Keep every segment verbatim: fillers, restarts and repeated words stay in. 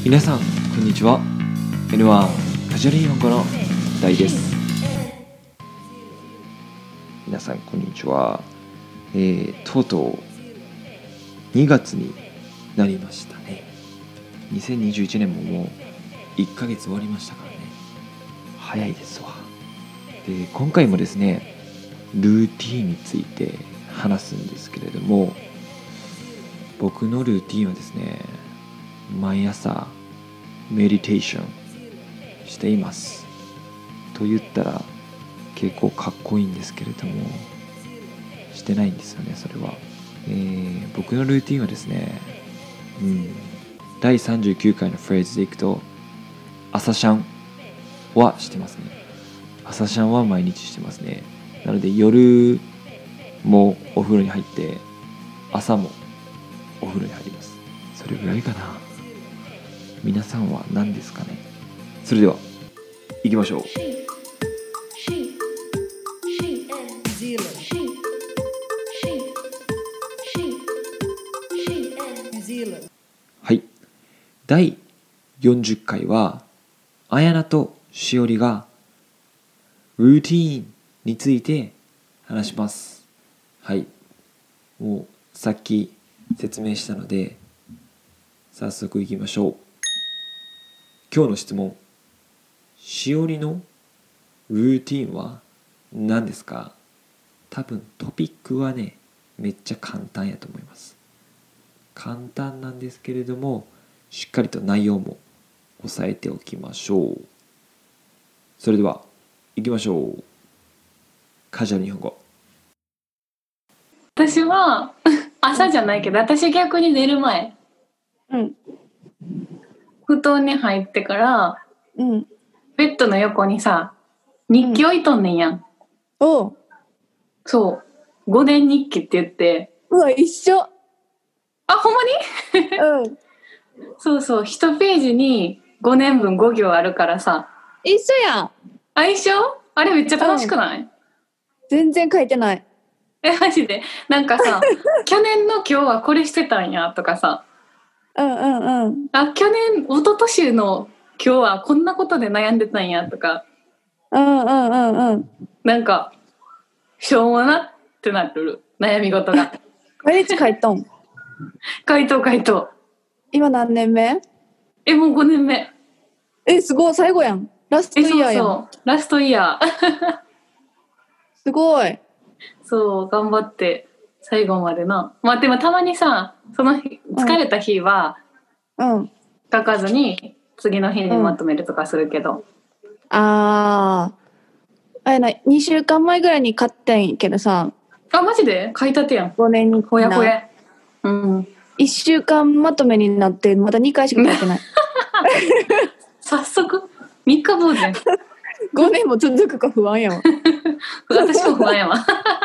皆さんこんにちは。 エヌワン カジュアル日本語の大です。皆さんこんにちは。えー、とうとうにがつになりましたね。にせんにじゅういちねんももういっかげつ終わりましたからね。早いですわ。で、今回もですね、ルーティーンについて話すんですけれども、僕のルーティーンはですね、毎朝メディテーションしています。と言ったら結構かっこいいんですけれども、してないんですよね、それは。えー、僕のルーティンはですね、うん、だいさんじゅうきゅうかいのフレーズでいくと、朝シャンはしてますね。朝シャンは毎日してますね。なので夜もお風呂に入って、朝もお風呂に入ります。それぐらいかな。皆さんは何ですかね。それでは行きましょう。はい、だいよんじゅっかいはあやなとしおりがルーティーンについて話します。はい、もうさっき説明したので早速いきましょう。今日の質問、しおりのルーティーンは何ですか？多分トピックはね、めっちゃ簡単やと思います。簡単なんですけれども、しっかりと内容も押さえておきましょう。それでは行きましょう。カジュアル日本語。 私は朝じゃないけど、私逆に寝る前、 うん、 布団に入ってから、 うん、 ベッドの横にさ、日記置いとんねんやん。 おう、 そう、ごねん日記って言って、 うわ、一緒。 あ、ほんまにうん、 そうそう、いちページにごねんぶんご行あるからさ。 一緒やん。 あ、一緒？あれめっちゃ楽しくない？ 全然書いてない。 え、マジでなんかさ、去年の今日はこれしてたんやとかさ、 うんうんうん。 あ、去年、一昨年の今日はこんなことで悩んでたんやとか、 うんうんうんうん。 なんか、しょうもなってなる悩み事が。 毎日書いとん。 回答回答。 今何年目？ え、もうごねんめ。 え、すごい、最後やん。ラストえ、 イヤーやん。 そうそう。ラストイヤー。 すごい。 そう、頑張って最後までな。まあでもたまにさ、その日疲れた日はうん。 書かずに次の日にまとめるとかするけど。うん、 あー。あれな、にしゅうかんまえぐらいに買ってんけどさ。 あ、マジで書いたてやん。 ごねんにほやほや。うん。 いっしゅうかんまとめになって、まだにかいしか書いてない。 早速みっか坊主やん。 ごねんも続くか不安やわ。 私も不安やわ。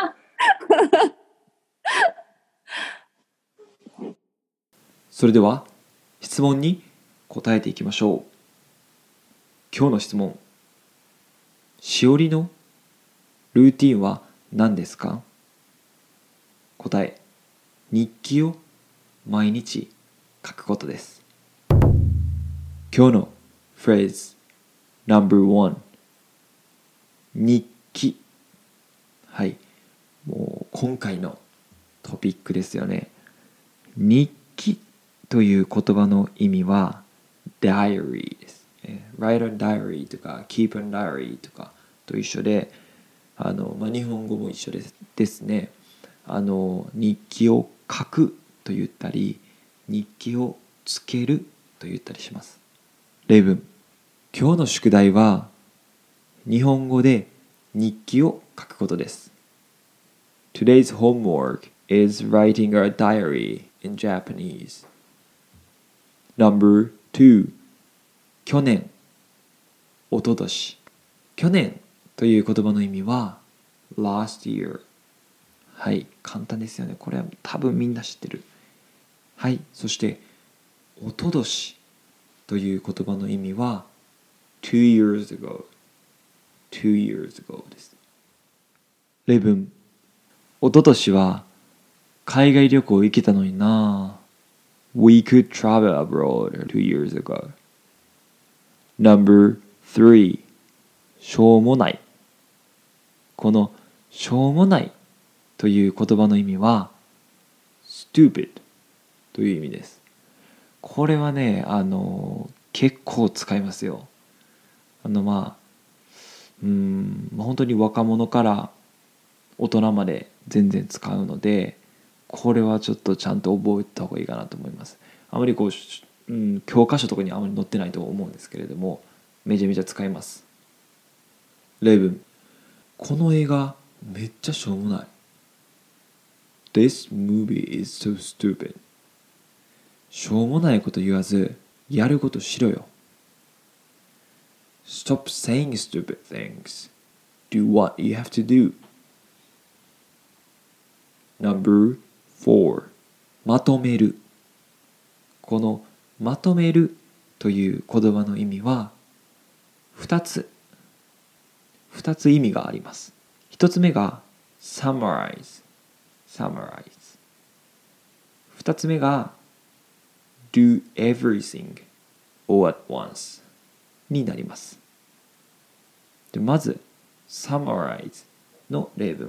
それでは質問に答えていきましょう。今日の質問、しおりのルーティンは何ですか？答え、日記を毎日書くことです。今日のフレーズ ナンバーワン、 日記。はい、もう今回のトピックですよね。日記という言葉の意味は diary です。write a diary とか keep a diary とかと一緒で、あの、まあ、日本語も一緒ですですね。あの、日記を書くと言ったり、日記をつけると言ったりします。例文、今日の宿題は日本語で日記を書くことです。Today's homework is writing a diary in Japanese. Number two、 去年、おととし。去年という言葉の意味は last year。 はい、簡単ですよね。これは多分みんな知ってる。はい、そしておととしという言葉の意味は two years ago。 two years ago です。例文、おととしは海外旅行行けたのにな。 We could travel abroad two years ago. Number three しょうもない。このしょうもないという言葉の意味は stupid という意味です。これはね、あの結構使いますよ。あのまあうーん本当に若者から大人まで全然使うので、これはちょっとちゃんと覚えた方がいいかなと思います。あまりこう、うん、教科書とかにあまり載ってないと思うんですけれども、めちゃめちゃ使います。例文、この映画めっちゃしょうもない。 This movie is so stupid. しょうもないこと言わずやることしろよ。 Stop saying stupid things. Do what you have to do. Number four まとめる。このまとめるという言葉の意味はふたつふたつ意味があります。ひとつめが summarize summarize ふたつめが do everything all at once になります。でまず summarize の例文、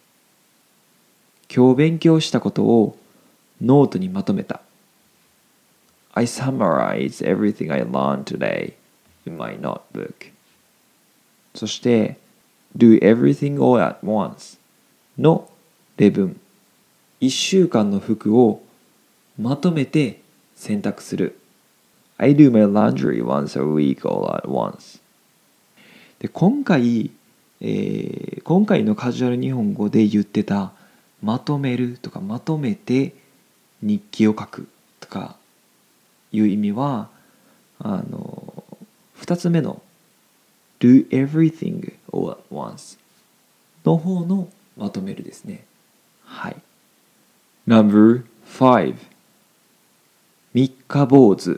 今日勉強したことをノートにまとめた。I summarized everything I learned today in my notebook. そして do everything all at once の例文、いっしゅうかんの服をまとめて洗濯する。I do my laundry once a week all at once. で今回、えー、今回のカジュアル日本語で言ってたまとめるとかまとめて日記を書くとかいう意味はあのふたつめの do everything all at once の方のまとめるですね。はい。Number five 三日坊主。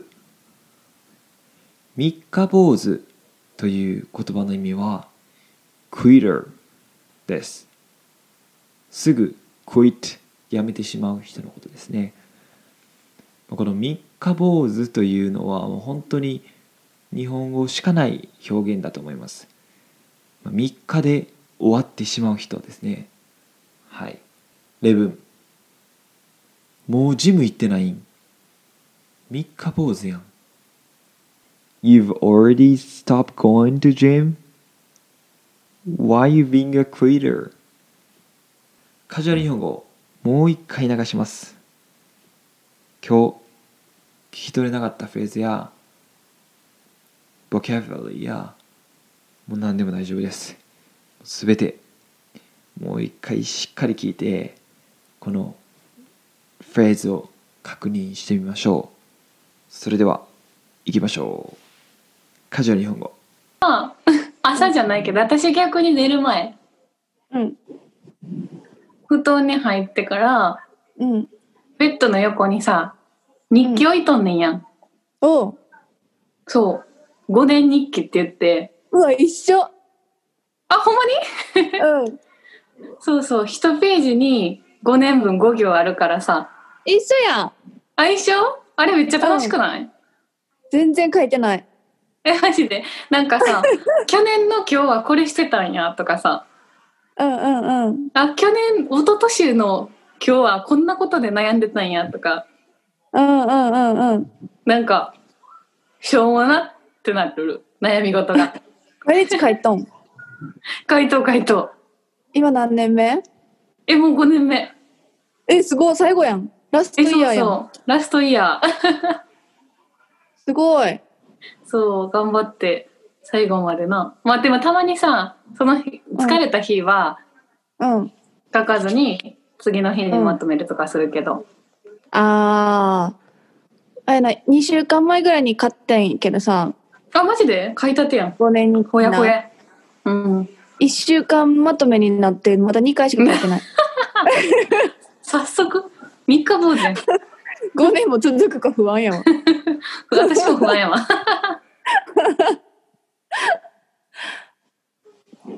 三日坊主という言葉の意味は quitter です。すぐ quit やめてしまう人のことですね。この三日坊主というのはもう本当に日本語しかない表現だと思います。みっかで終わってしまう人ですね。はい。例文、もうジム行ってないん。三日坊主やん。You've already stopped going to gym? Why you being a quitter? カジュアル日本語もう一回流します。今日聞き取れなかったフレーズやボキャブラリーやもう何でも大丈夫です。すべてもう一回しっかり聞いてこのフレーズを確認してみましょう。それでは行きましょう。カジュアル日本語。 あ朝じゃないけど私逆に寝る前、 うん。 布団に入ってからうん。 ベッドの横にさ日記置いとんねんやん、うん、 おう。 そうごねん日記って言って。 うわ一緒。 あほんまにうん。 そうそういちページにごねんぶんご行あるからさ。 一緒やん。 あ一緒あれめっちゃ楽しくない、うん、 全然書いてない。 えマジでなんかさ去年の今日はこれしてたんやとかさ、 うんうんうん。 あ去年一昨年の今日はこんなことで悩んでたんやとか、 うんうんうんうん。 なんかしょうもなってなる悩み事が毎日書いとん。 回答回答。 今何年目？ えもうごねんめ。 えすごい最後やん。ラストイヤーやん。 えそうそうラストイヤーすごい。 そう頑張って最後までな。まあでもたまにさその日疲れた日はうん書かずに次の日にまとめるとかするけど、うん、 あーあれなにしゅうかんまえぐらいに買ってんけどさ。 あマジで買いたてやん。 ごねんにほやほや。うんいっしゅうかんまとめになってまだにかいしか書いてない早速みっか坊主やんごねんも続くか不安やわ私も不安やわ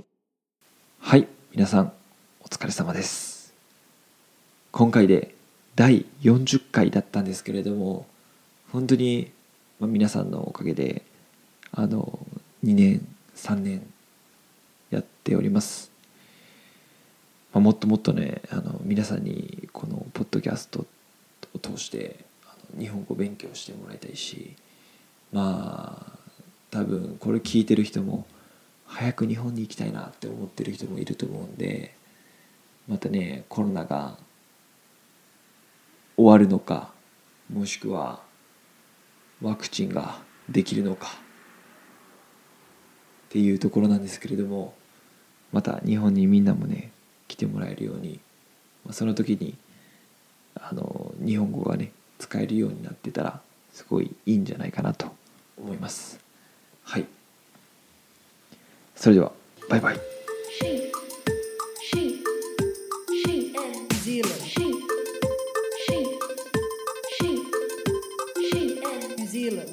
はい皆さんお疲れ様です。今回でだいよんじゅっかいだったんですけれども、本当に、まあ、皆さんのおかげであのにねんさんねんやっております。まあ、もっともっとねあの皆さんにこのポッドキャストを通してあの日本語勉強してもらいたいし、まあ多分これ聞いてる人も早く日本に行きたいなって思ってる人もいると思うんで、またねコロナが終わるのか、もしくはワクチンができるのかっていうところなんですけれども、また日本にみんなもね来てもらえるように、その時にあの日本語がね使えるようになってたらすごいいいんじゃないかなと思います。はい、それではバイバイ。 She, she, she, and Zealand. She, she, she, she, and New Zealand.